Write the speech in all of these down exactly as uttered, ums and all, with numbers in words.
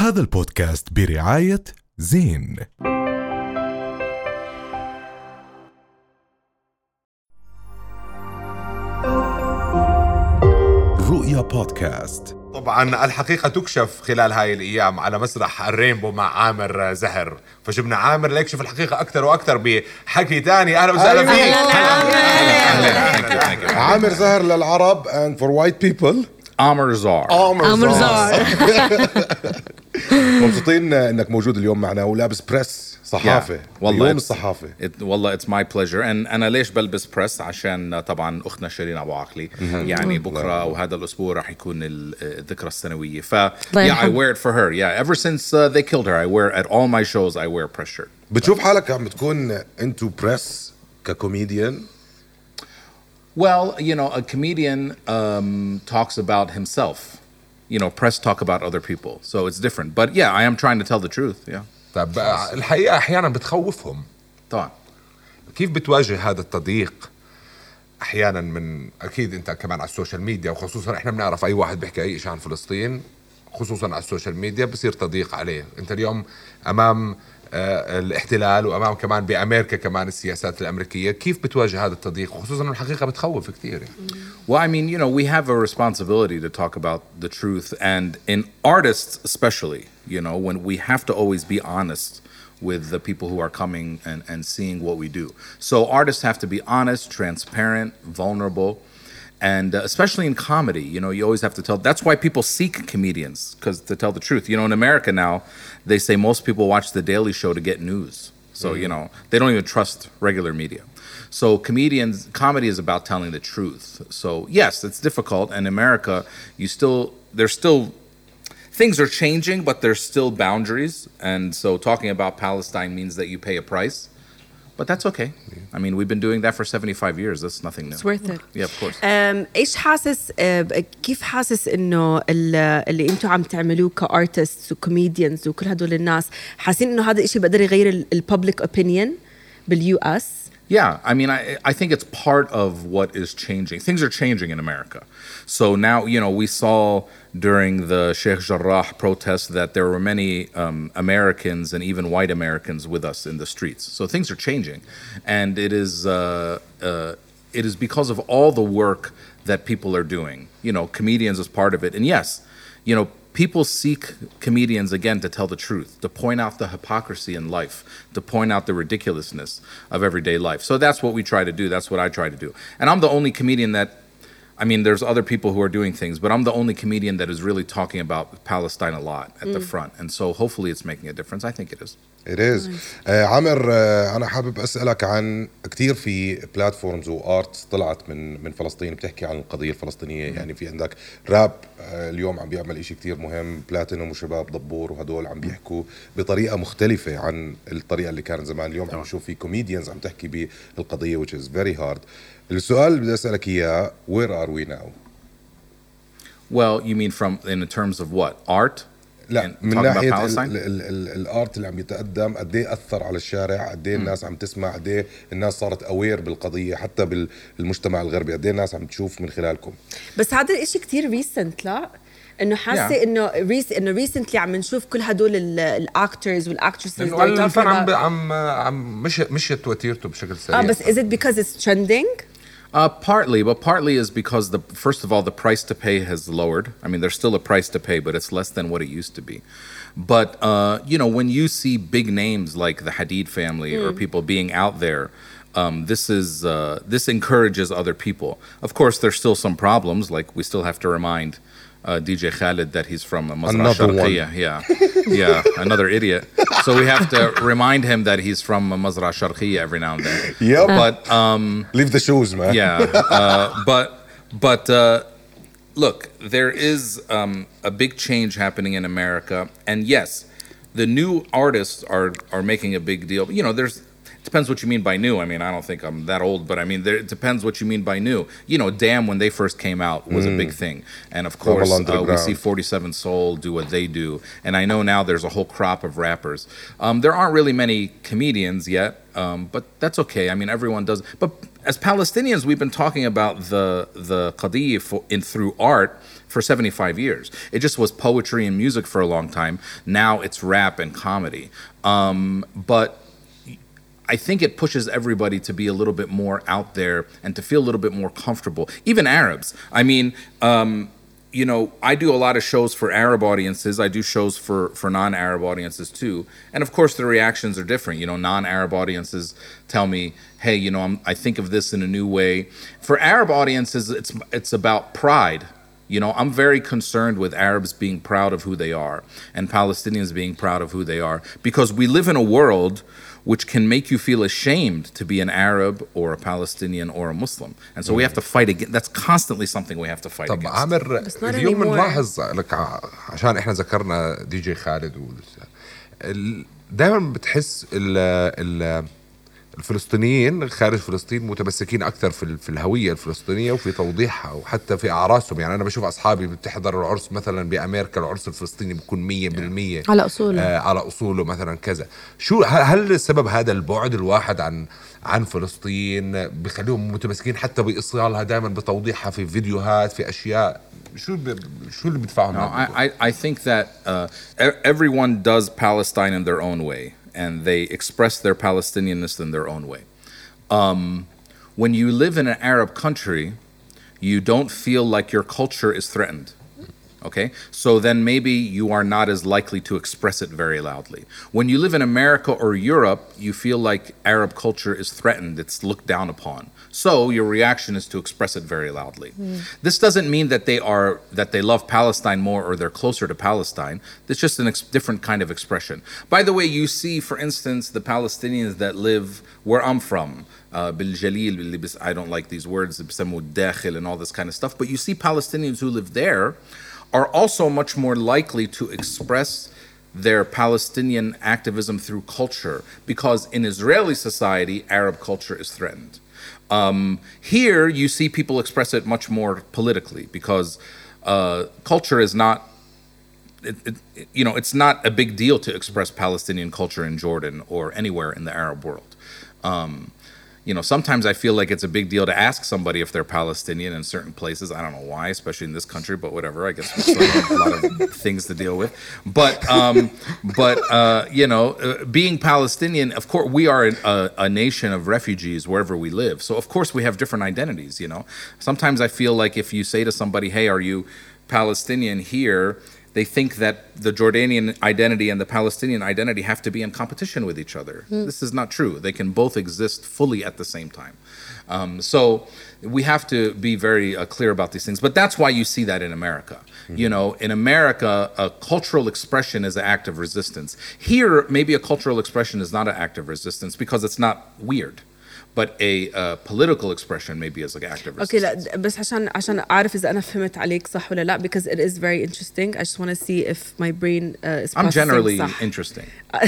هذا البودكاست برعاية زين. رؤيا بودكاست. طبعا الحقيقة تكشف خلال هاي الأيام على مسرح الرينبو مع عامر زهر، فجبنا عامر ليكشف الحقيقة أكثر وأكثر بحكي تاني. أهلا وسهلا فيك. عامر زهر للعرب and for white people عامر زهر. عامر زهر. مبسوطين انك موجود اليوم معنا ولابس بريس صحافة. yeah. والله اليوم الصحافة. it, والله it's my pleasure. and أنا ليش بلبس بريس؟ عشان طبعا أختنا شيرين أبو عقلي يعني بكرة وهذا الأسبوع راح يكون الذكرى السنوية. ف yeah, I wear it for her. Yeah, ever since uh, they killed her, I wear at all my shows. I wear press shirt. بتشوف حالك عم بتكون into press ككوميديان؟ Well, you know, a comedian um, talks about himself. You know, press talk about other people. So it's different. But yeah, I am trying to tell the truth. Yeah. طب الحقيقة أحيانا بتخوفهم. طبعا. كيف بتواجه هذا التضييق أحيانا من أكيد أنت كمان على السوشيال ميديا، وخصوصا إحنا بنعرف أي واحد بيحكي أي شيء عن فلسطين خصوصا على السوشيال ميديا بصير تضييق عليه. أنت اليوم أمام آه الاحتلال وأمام كمان بأمريكا كمان السياسات الأمريكية، كيف بتواجه هذا التضييق وخصوصا الحقيقة بتخوف كتير؟ Well, I mean, you know, we have a responsibility to talk about the truth, and in artists especially, you know, when we have to always be honest with the people who are coming and, and seeing what we do. So artists have to be honest, transparent, vulnerable, and uh, especially in comedy, you know, you always have to tell. That's why people seek comedians, because to tell the truth. You know, in America now, they say most people watch The Daily Show to get news. So, mm-hmm. you know, they don't even trust regular media. So comedians, comedy is about telling the truth. So yes, it's difficult. And in America, you still, there's still, things are changing, but there's still boundaries. And so talking about Palestine means that you pay a price. But that's okay. I mean, we've been doing that for seventy-five years. That's nothing new. It's worth it. Yeah, of course. Um, إيش حاسس كيف حاسس إنه اللي أنتوا عم تعملوه كارتستس وكوميديانز وكل هدول الناس حاسين إنه هذا الشيء بقدر يغير البابليك opinion باليو إس؟ Yeah, I mean, I, I think it's part of what is changing. Things are changing in America. So now, you know, we saw during the Sheikh Jarrah protests that there were many um, Americans and even white Americans with us in the streets. So things are changing. And it is, uh, uh, it is because of all the work that people are doing. You know, comedians is part of it. And yes, you know, people seek comedians, again, to tell the truth, to point out the hypocrisy in life, to point out the ridiculousness of everyday life. So that's what we try to do. That's what I try to do. And I'm the only comedian that, I mean, there's other people who are doing things, but I'm the only comedian that is really talking about Palestine a lot at mm. the front. And so hopefully it's making a difference. I think it is. It is. Nice. uh, عامر uh, أنا حابب أسألك عن كتير في بلاتفورمز وآرت طلعت من من فلسطين بتحكي عن القضية الفلسطينية. mm. يعني في عندك راب uh, اليوم عم بيعمل إشي كتير مهم، بلاتينوم وشباب ضبور وهدول عم بيحكوا بطريقة مختلفة عن الطريقة اللي كانت زمان. اليوم عم نشوف في كوميديانز عم تحكي بالقضية which is very hard. السؤال اللي بدي أسألك إياه where are we now? Well, you mean from in terms of what? Art? لا من ناحية الارت اللي عم يتقدم قد ايه اثر على الشارع، قد ايه الناس عم تسمع، قد ايه الناس صارت اوير بالقضيه حتى بالمجتمع الغربي، قد ايه الناس عم تشوف من خلالكم. بس هذا الاشي كتير ريسنت، لا انه حاسه yeah. انه ريس انه ريسنتلي عم نشوف كل هدول الاكترز والاكترسز اللي الفن عم عم عم مش مش توتيرته بشكل سريع. اه بس is it because it's trending? Uh, partly, but partly is because the first of all the price to pay has lowered. I mean, there's still a price to pay, but it's less than what it used to be. But uh, you know, when you see big names like the Hadid family mm. or people being out there, um, this is uh, this encourages other people. Of course, there's still some problems. Like we still have to remind uh, D J Khaled that he's from Mazra Sharqiyya. Yeah, yeah, another idiot. So we have to remind him that he's from Mazra Sharqiyya every now and then. Yep. But um, leave the shoes, man. Yeah. Uh, but but uh, look, there is um, a big change happening in America, and yes, the new artists are are making a big deal. You know, there's it depends what you mean by new. I mean, I don't think I'm that old, but I mean, there, it depends what you mean by new. You know, Damn, when they first came out, was mm. a big thing. And of course, uh, we see forty-seven Soul do what they do. And I know now there's a whole crop of rappers. Um, there aren't really many comedians yet, um, but that's okay. I mean, everyone does. But as Palestinians, we've been talking about the, the qadiyya in through art for seventy-five years. It just was poetry and music for a long time. Now it's rap and comedy. Um, but I think it pushes everybody to be a little bit more out there and to feel a little bit more comfortable. Even Arabs. I mean, um, you know, I do a lot of shows for Arab audiences. I do shows for, for non-Arab audiences too. And of course, the reactions are different. You know, non-Arab audiences tell me, hey, you know, I'm, I think of this in a new way. For Arab audiences, it's it's about pride. You know, I'm very concerned with Arabs being proud of who they are and Palestinians being proud of who they are, because we live in a world which can make you feel ashamed to be an Arab or a Palestinian or a Muslim. And so we have to fight against, that's constantly something we have to fight طب against. عامر اليوم بنلاحظ لك عشان احنا ذكرنا دي جي خالد دائما بتحس ال ال الفلسطينيين خارج فلسطين متمسكين اكثر في في الهويه الفلسطينيه وفي توضيحها وحتى في اعراسهم. يعني انا بشوف اصحابي بتحضر العرس مثلا بامريكا، العرس الفلسطيني بيكون مية بالمية على اصوله آه على اصوله مثلا كذا. شو هل السبب هذا البعد الواحد عن عن فلسطين بخليهم متمسكين حتى باصرارها دائما بتوضيحها في فيديوهات في اشياء؟ شو شو اللي بيدفعهم؟ No, I I think that uh, everyone does Palestine in their own way. And they express their Palestinianness in their own way. Um, when you live in an Arab country, you don't feel like your culture is threatened. Okay? So then maybe you are not as likely to express it very loudly. When you live in America or Europe, you feel like Arab culture is threatened, it's looked down upon. So your reaction is to express it very loudly. Mm. This doesn't mean that they are that they love Palestine more or they're closer to Palestine. It's just a ex- different kind of expression. By the way, you see, for instance, the Palestinians that live where I'm from, uh, بالجليل, I don't like these words, الداخل and all this kind of stuff, but you see Palestinians who live there are also much more likely to express their Palestinian activism through culture, because in Israeli society, Arab culture is threatened. Um, here, you see people express it much more politically, because uh, culture is not, it, it, you know, it's not a big deal to express Palestinian culture in Jordan or anywhere in the Arab world. Um, You know, sometimes I feel like it's a big deal to ask somebody if they're Palestinian in certain places. I don't know why, especially in this country, but whatever. I guess we still have a lot of things to deal with. But, um, but uh, you know, uh, being Palestinian, of course, we are a, a nation of refugees wherever we live. So, of course, we have different identities, you know. Sometimes I feel like if you say to somebody, hey, are you Palestinian here? They think that the Jordanian identity and the Palestinian identity have to be in competition with each other. Mm. This is not true. They can both exist fully at the same time. Um, so we have to be very uh, clear about these things. But that's why you see that in America. Mm-hmm. You know, in America, a cultural expression is an act of resistance. Here, maybe a cultural expression is not an act of resistance because it's not weird. But a uh, political expression maybe is like active resistance. Okay, لا بس عشان عشان أعرف إذا أنا فهمت عليك صح ولا لا, because it is very interesting. I just want to see if my brain uh, is processing. I'm generally صح. interesting.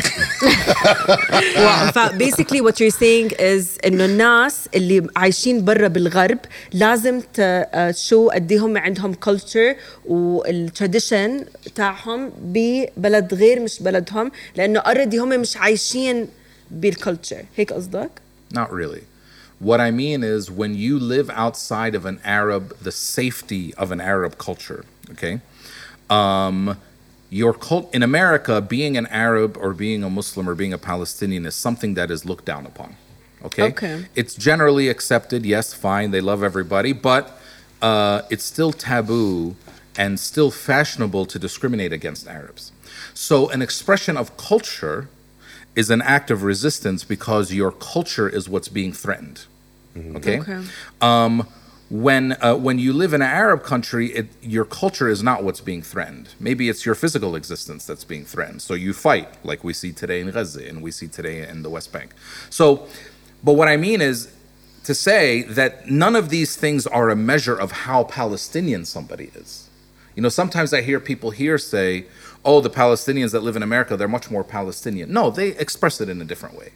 well, basically what you're saying is إنه الناس اللي عايشين برا بالغرب لازم تشو قديهم عندهم culture والtradition تاعهم ببلد غير مش بلدهم, لأنه already هم مش عايشين بالculture. هيك قصدك؟ Not really. What I mean is when you live outside of an Arab, the safety of an Arab culture, okay? Um, your cult in America, being an Arab or being a Muslim or being a Palestinian is something that is looked down upon, okay? Okay. It's generally accepted, yes, fine, they love everybody, but uh, it's still taboo and still fashionable to discriminate against Arabs. So an expression of culture is an act of resistance because your culture is what's being threatened. Mm-hmm. Okay. okay. Um, when uh, when you live in an Arab country, it, your culture is not what's being threatened. Maybe it's your physical existence that's being threatened. So you fight, like we see today in Gaza and we see today in the West Bank. So, but what I mean is to say that none of these things are a measure of how Palestinian somebody is. You know, sometimes I hear people here say, oh, the Palestinians that live in America, they're much more Palestinian. No, they express it in a different way.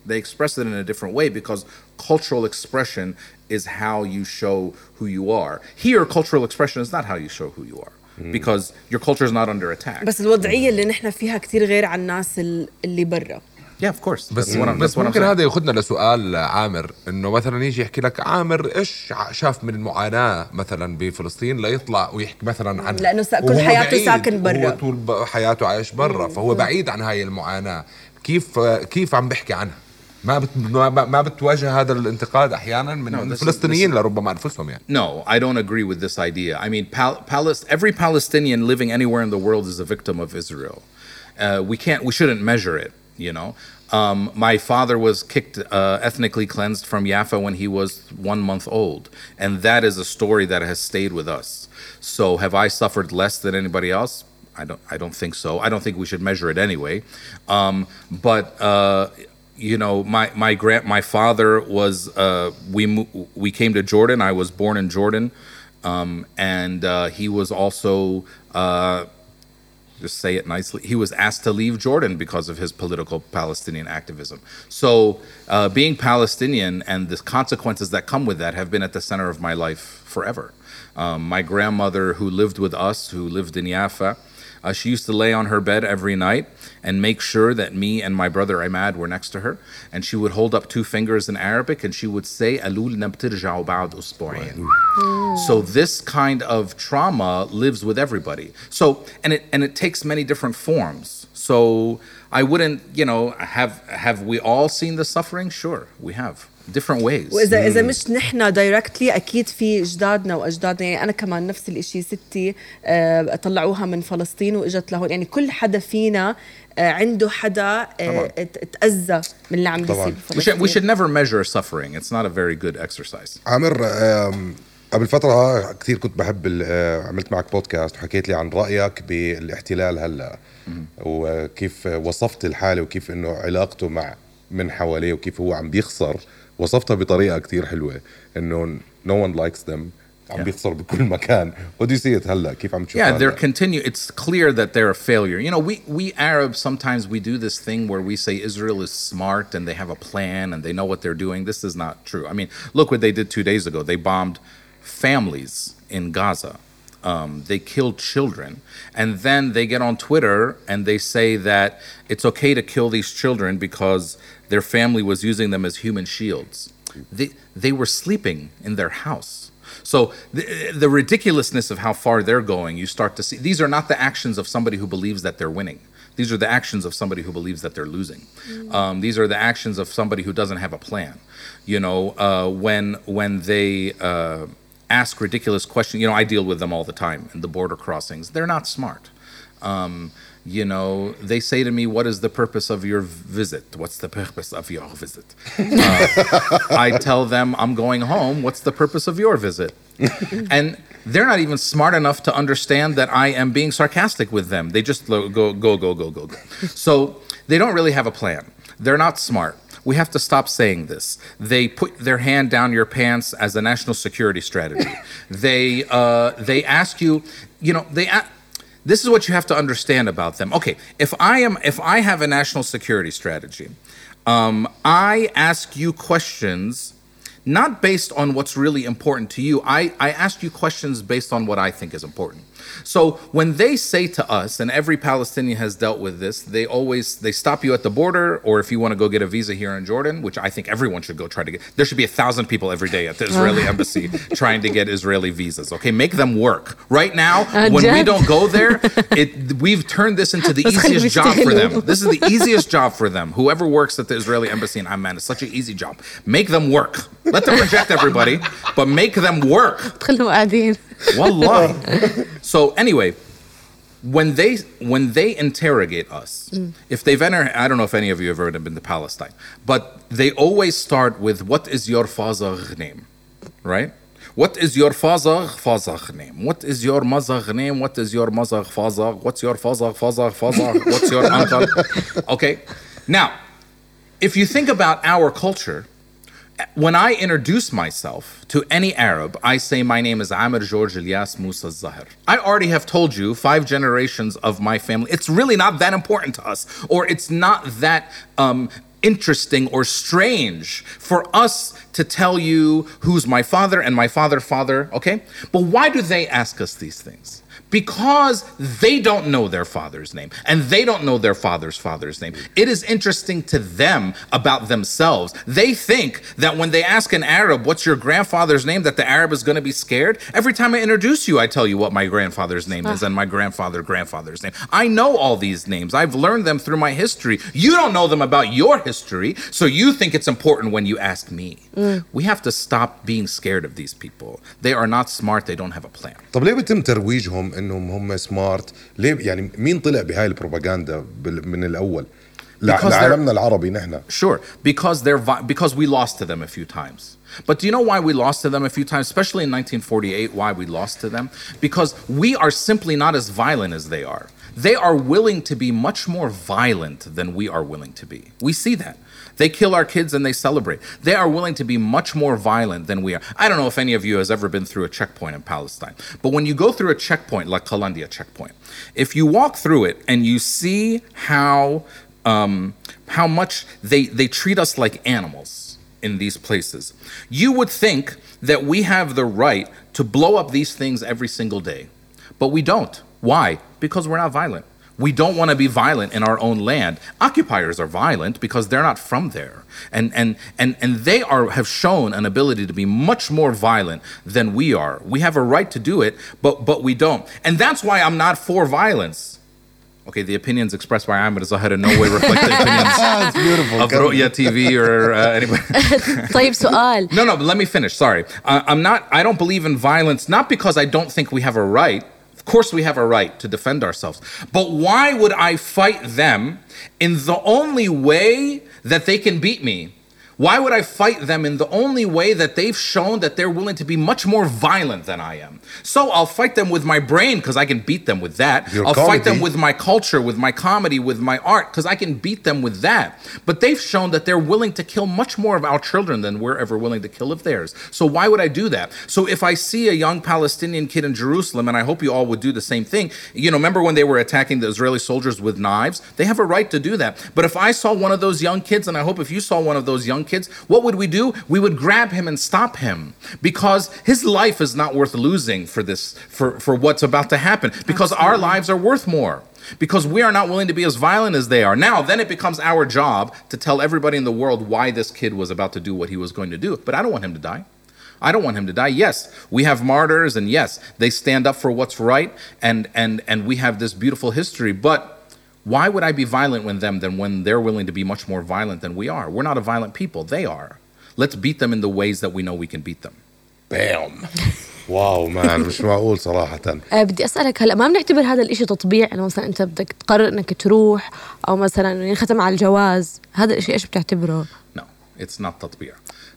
They express it in a different way because cultural expression is how you show who you are. Here, cultural expression is not how you show who you are because your culture is not under attack. بس الوضعية اللي نحن فيها كتير غير عن الناس اللي برا. Yeah, of course. بس That's what I'm- بس that's what I'm ممكن saying. هذا ياخذنا لسؤال عامر، انه مثلا يجي يحكي لك عامر ايش ع- شاف من المعاناه مثلا بفلسطين ليطلع ويحكي مثلا عن لأنه سا- كل وهو حياته بعيد، ساكن برا. هو طول ب- حياته عايش برا، فهو بعيد عن هاي المعاناه. كيف كيف عم بحكي عنها؟ ما بت ما ما بتواجه هذا الانتقاد احيانا من No, this is- الفلسطينيين this is- لربما انفسهم يعني. No, I don't agree with this idea. I mean, Pal- Palis- every Palestinian living anywhere in the world is a victim of Israel. Uh, we can't, we shouldn't measure it, you know. Um, my father was kicked, uh, ethnically cleansed from Jaffa when he was one month old. And that is a story that has stayed with us. So have I suffered less than anybody else? I don't, I don't think so. I don't think we should measure it anyway. Um, but, uh, you know, my my grand my father was uh, we mo- we came to Jordan. I was born in Jordan, um, and uh, he was also uh, just say it nicely. He was asked to leave Jordan because of his political Palestinian activism. So uh, being Palestinian and the consequences that come with that have been at the center of my life forever. Um, my grandmother, who lived with us, who lived in Jaffa. Uh, she used to lay on her bed every night and make sure that me and my brother Ahmad were next to her. And she would hold up two fingers in Arabic and she would say, "Alulna btirja'u ba'd usbu'ain." So this kind of trauma lives with everybody. So, and it, and it takes many different forms. So I wouldn't, you know, have, have we all seen the suffering? Sure, we have. Different ways. وإذا إذا مش نحن دايركتلي أكيد في أجدادنا وأجدادنا، يعني أنا كمان نفس الإشي، ستي آه، طلعوها من فلسطين وإجت لهون، يعني كل حدا فينا آه، عنده حدا آه، ات- تأذى من اللي عم بيصير طبعاً. we should, we بفلسطين. should never measure suffering. It's not a very good exercise. عامر، آم، قبل فترة كثير كنت بحب ال- آه، عملت معك بودكاست وحكيت لي عن رأيك بالاحتلال هلا، وكيف وصفت الحالة وكيف انه علاقته مع من حواليه وكيف هو عم بيخسر. وصفتها بطريقة كثير حلوة انه no one likes them، عم Yeah. بيخسر بكل مكان. What do you see it هلا؟ كيف عم تشوف؟ Yeah, they're continue. It's clear that they're a failure. You know, we we Arabs sometimes we do this thing where we say Israel is smart and they have a plan and they know what they're doing. This is not true. I mean, look what they did two days ago. They bombed families in Gaza. Um, they killed children, and then they get on Twitter and they say that it's okay to kill these children because their family was using them as human shields. They they were sleeping in their house. So the, the ridiculousness of how far they're going, you start to see. These are not the actions of somebody who believes that they're winning. These are the actions of somebody who believes that they're losing. Um, these are the actions of somebody who doesn't have a plan. You know, uh, when when they uh, ask ridiculous questions. You know, I deal with them all the time in the border crossings. They're not smart. Um, you know, they say to me, "What is the purpose of your visit? What's the purpose of your visit?" Uh, I tell them, "I'm going home. What's the purpose of your visit?" And they're not even smart enough to understand that I am being sarcastic with them. They just lo- go, go, go, go, go, go. So they don't really have a plan. They're not smart. We have to stop saying this. They put their hand down your pants as a national security strategy. they uh, they ask you, you know, they. A- this is what you have to understand about them. Okay, if I am, if I have a national security strategy, um, I ask you questions. Not based on what's really important to you. I, I ask you questions based on what I think is important. So when they say to us, and every Palestinian has dealt with this, they always, they stop you at the border, or if you want to go get a visa here in Jordan, which I think everyone should go try to get. There should be a thousand people every day at the Israeli embassy trying to get Israeli visas. Okay, make them work. Right now, when we don't go there, it, we've turned this into the easiest job for them. This is the easiest job for them. Whoever works at the Israeli embassy in Amman, it's such an easy job. Make them work. Let them reject everybody, but make them work. خلهم قاعدين. Wallah. So anyway, when they when they interrogate us, if they've entered, I don't know if any of you have ever been to Palestine, but they always start with, "What is your father name?" Right? What is your father father name? What is your mother name? What is your mother father? What's your father father father? What's your uncle? Okay. Now, if you think about our culture, when I introduce myself to any Arab, I say my name is Amir George Ilyas Musa Zahir. I already have told you five generations of my family. It's really not that important to us, or it's not that um, interesting or strange for us to tell you who's my father and my father father, okay? But why do they ask us these things? Because they don't know their father's name and they don't know their father's father's name. It is interesting to them about themselves. They think that when they ask an Arab, what's your grandfather's name, that the Arab is going to be scared. Every time I introduce you, I tell you what my grandfather's name is and my grandfather grandfather's name. I know all these names. I've learned them through my history. You don't know them about your history, so you think it's important when you ask me. Mm. We have to stop being scared of these people. They are not smart. They don't have a plan. طب ليه بيتم ترويجهم انهم هم سمارت؟ ليه يعني مين طلع بهاي البروباغندا من الاول لعالمنا العربي نحن؟ Sure, because they're vi- because we lost to them a few times. But do you know why we lost to them a few times, especially in nineteen forty-eight, why we lost to them? Because we are simply not as violent as they are. They are willing to be much more violent than we are willing to be. We see that. They kill our kids and they celebrate. They are willing to be much more violent than we are. I don't know if any of you has ever been through a checkpoint in Palestine, but when you go through a checkpoint like Qalandia checkpoint, if you walk through it and you see how um, how much they, they treat us like animals in these places, you would think that we have the right to blow up these things every single day. But we don't. Why? Because we're not violent. We don't want to be violent in our own land. Occupiers are violent because they're not from there. And and and and they are have shown an ability to be much more violent than we are. We have a right to do it, but but we don't. And that's why I'm not for violence. Okay, the opinions expressed by Ahmed Zahir in no way reflect the opinions of Ru'ya T V or uh, anybody. طيب سؤال. No, no, but let me finish. Sorry. Uh, I'm not, I don't believe in violence, not because I don't think we have a right. Of course we have a right to defend ourselves. But why would I fight them in the only way that they can beat me? Why would I fight them in the only way that they've shown that they're willing to be much more violent than I am? So I'll fight them with my brain because I can beat them with that. Your I'll comedy. fight them with my culture, with my comedy, with my art because I can beat them with that. But they've shown that they're willing to kill much more of our children than we're ever willing to kill of theirs. So why would I do that? So if I see a young Palestinian kid in Jerusalem, and I hope you all would do the same thing, you know, remember when they were attacking the Israeli soldiers with knives? They have a right to do that. But if I saw one of those young kids, and I hope if you saw one of those young kids, what would we do? We would grab him and stop him because his life is not worth losing for this, for, for what's about to happen, because Absolutely. Our lives are worth more, because we are not willing to be as violent as they are. Now, then it becomes our job to tell everybody in the world why this kid was about to do what he was going to do. But I don't want him to die. I don't want him to die. Yes, we have martyrs, and yes, they stand up for what's right, and and and we have this beautiful history, but why would I be violent with them than when they're willing to be much more violent than we are? We're not a violent people. They are. Let's beat them in the ways that we know we can beat them. Bam. واو مان مش معقول صراحة. بدي أسألك هلأ ما بنعتبر هذا الإشي تطبيع إنه مثلا أنت بدك تقرر إنك تروح أو مثلا ينختم على الجواز، هذا الإشي إيش بتعتبره؟ No, it's not تطبيع.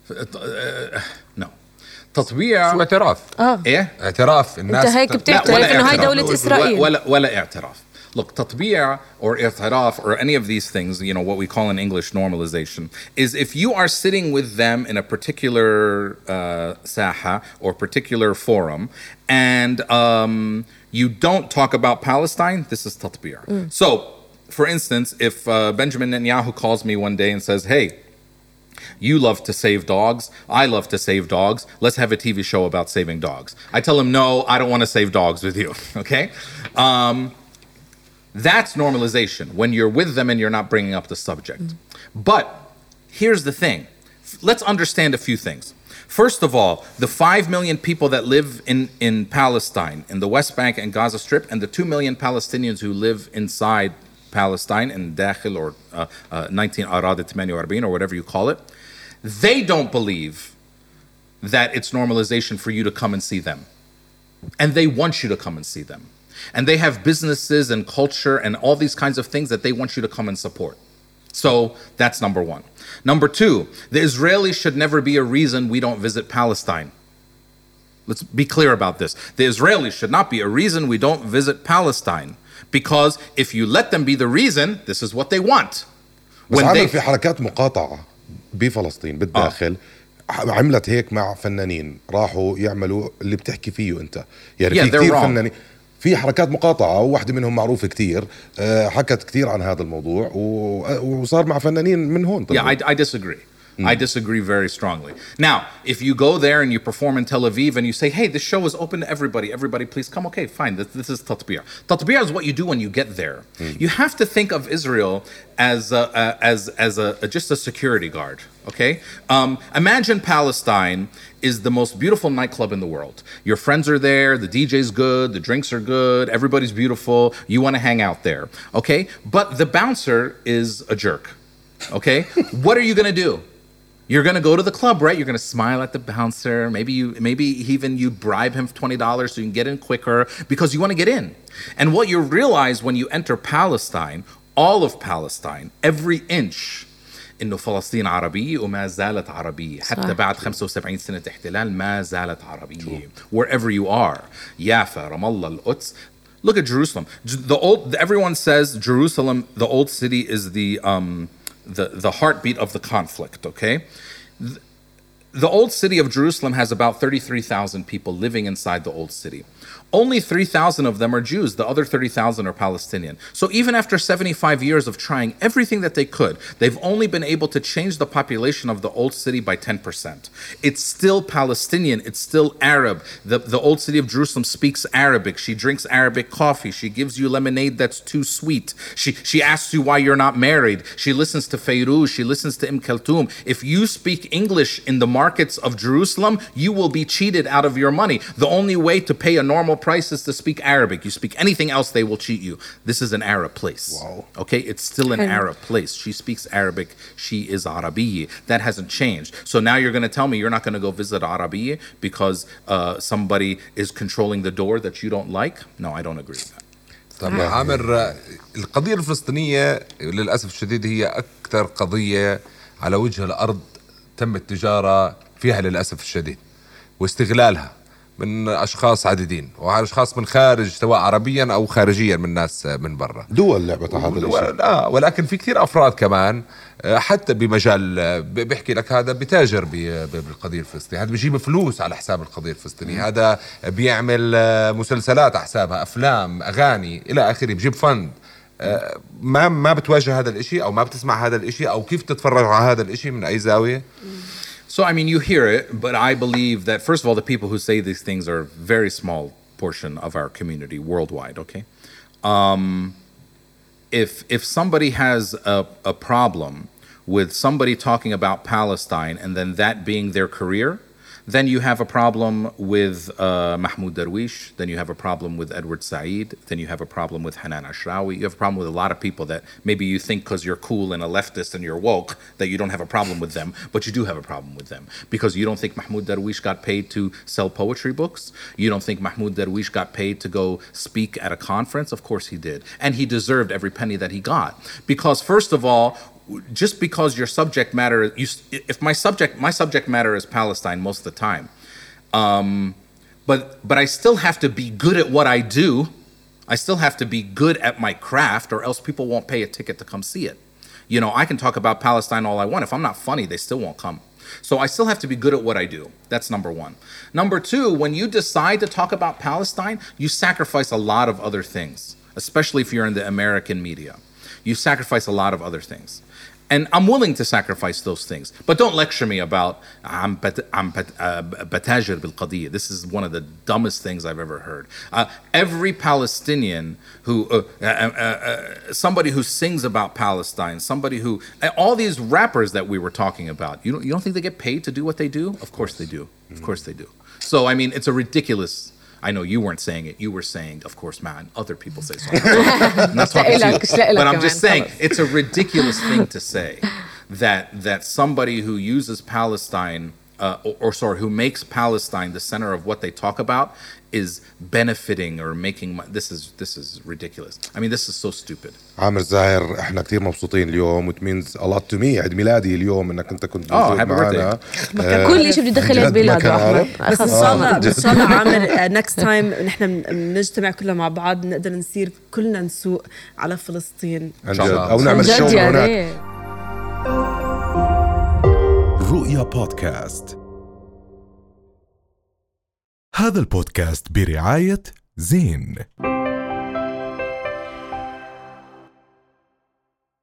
No. تطبيع شو اعتراف؟ آه. إيه؟ اعتراف الناس. أنت هيك بتعترف إنه هاي دولة إسرائيل. ولا ولا اعتراف. Look, تطبيع or اعتراف or any of these things, you know, what we call in English normalization, is if you are sitting with them in a particular uh, saha or particular forum and um, you don't talk about Palestine, this is تطبيع. Mm. So, for instance, if uh, Benjamin Netanyahu calls me one day and says, hey, you love to save dogs, I love to save dogs, let's have a T V show about saving dogs. I tell him, no, I don't want to save dogs with you, okay? Um, That's normalization, when you're with them and you're not bringing up the subject. Mm. But here's the thing. Let's understand a few things. First of all, the five million people that live in, in Palestine, in the West Bank and Gaza Strip, and the two million Palestinians who live inside Palestine, in Dakhil or uh, uh, nineteen Arad forty-eight or whatever you call it, they don't believe that it's normalization for you to come and see them. And they want you to come and see them. And they have businesses and culture and all these kinds of things that they want you to come and support. So that's number one. Number two, the Israelis should never be a reason we don't visit Palestine. Let's be clear about this. The Israelis should not be a reason we don't visit Palestine. Because if you let them be the reason, this is what they want. When they... في حركات مقاطعة بفلسطين بالداخل آه. عملت هيك مع فنانين راحوا يعملوا اللي بتحكي فيه أنت. يعني yeah, في كتير فنانين في حركات مقاطعة وواحدة منهم معروفة كتير حكت كتير عن هذا الموضوع وصار مع فنانين من هون. Yeah, I, I disagree. I disagree very strongly. Now, if you go there and you perform in Tel Aviv and you say, hey, this show is open to everybody, everybody please come, okay, fine, this, this is tatbir. Tatbir is what you do when you get there. Mm. You have to think of Israel as a, uh, as, as a, a, just a security guard, okay? Um, imagine Palestine is the most beautiful nightclub in the world. Your friends are there, the D J's good, the drinks are good, everybody's beautiful, you want to hang out there, okay? But the bouncer is a jerk, okay? What are you going to do? You're going to go to the club, right? You're going to smile at the bouncer. Maybe you, maybe even you bribe him for twenty dollars so you can get in quicker because you want to get in. And what you realize when you enter Palestine, all of Palestine, every inch, إنه فلسطين عربية وما زالت عربية حتى بعد خمسة وسبعين سنة احتلال ما زالت عربية. Wherever you are, Yafa, Ramallah, Al-Quds. Look at Jerusalem. The old, everyone says Jerusalem, the old city, is the um, the the heartbeat of the conflict. Okay, the, the old city of Jerusalem has about thirty-three thousand people living inside the old city. Only three thousand of them are Jews. The other thirty thousand are Palestinian. So even after seventy-five years of trying everything that they could, they've only been able to change the population of the old city by ten percent. It's still Palestinian. It's still Arab. The, the old city of Jerusalem speaks Arabic. She drinks Arabic coffee. She gives you lemonade that's too sweet. She, she asks you why you're not married. She listens to Fairuz. She listens to Im Kulthum. If you speak English in the markets of Jerusalem, you will be cheated out of your money. The only way to pay a normal price is to speak Arabic. You speak anything else, they will cheat you. This is an Arab place. Wow. Okay, it's still an Arab place. She speaks Arabic. She is Arabiya. That hasn't changed. So now you're going to tell me you're not going to go visit Arabiya because uh, somebody is controlling the door that you don't like? No, I don't agree with that. طب عامر، القضية الفلسطينية للأسف الشديد هي أكثر قضية على وجه الأرض تم التجارة فيها للأسف الشديد واستغلالها من أشخاص عديدين وأشخاص من خارج سواء عربيا أو خارجيا من ناس من برا دول لعبت هذا الشيء. لا ولكن في كثير أفراد كمان حتى بمجال بيحكي لك هذا بتاجر بالقضية الفلسطينية، هذا بيجيب فلوس على حساب القضية الفلسطينية، هذا بيعمل مسلسلات على حسابها، أفلام، أغاني إلى آخره، بيجيب فند. ما ما بتواجه هذا الإشي أو ما بتسمع هذا الإشي أو كيف تتفرج على هذا الإشي من أي زاوية؟ So, I mean, you hear it, but I believe that, first of all, the people who say these things are a very small portion of our community worldwide, okay? Um, if if somebody has a, a problem with somebody talking about Palestine and then that being their career, then you have a problem with uh, Mahmoud Darwish, then you have a problem with Edward Said, then you have a problem with Hanan Ashrawi, you have a problem with a lot of people that maybe you think because you're cool and a leftist and you're woke that you don't have a problem with them, but you do have a problem with them because you don't think Mahmoud Darwish got paid to sell poetry books, you don't think Mahmoud Darwish got paid to go speak at a conference. Of course he did, and he deserved every penny that he got because, first of all, just because your subject matter, you, if my subject, my subject matter is Palestine most of the time, um, but but I still have to be good at what I do. I still have to be good at my craft, or else people won't pay a ticket to come see it. You know, I can talk about Palestine all I want. If I'm not funny, they still won't come. So I still have to be good at what I do. That's number one. Number two, when you decide to talk about Palestine, you sacrifice a lot of other things, especially if you're in the American media. You sacrifice a lot of other things. And I'm willing to sacrifice those things. But don't lecture me about I'm batajir bil qadiyya. This is one of the dumbest things I've ever heard. Uh, every Palestinian who, uh, uh, uh, uh, somebody who sings about Palestine, somebody who, uh, all these rappers that we were talking about, you don't, you don't think they get paid to do what they do? Of course they do. Of course they do. So, I mean, it's a ridiculous... I know you weren't saying it. You were saying, of course, man, other people say something. I'm not talking to you. But I'm just saying, it's a ridiculous thing to say that that somebody who uses Palestine, uh, or, or sorry, who makes Palestine the center of what they talk about is benefiting or making money. This is this is ridiculous. I mean, this is so stupid. عامر زاهر، احنا كتير مبسوطين اليوم. It means a lot to me. عيد ميلادي اليوم انك انت كنت موجود معنا. كل شيء بده يدخل عيد ميلاد بس ان شاء الله ان شاء الله عامر نكست تايم نحن بنجتمع كلنا مع بعض نقدر نصير كلنا نسوق على فلسطين ان شاء الله او نعمل شو هناك. رؤيا بودكاست. هذا البودكاست برعاية زين.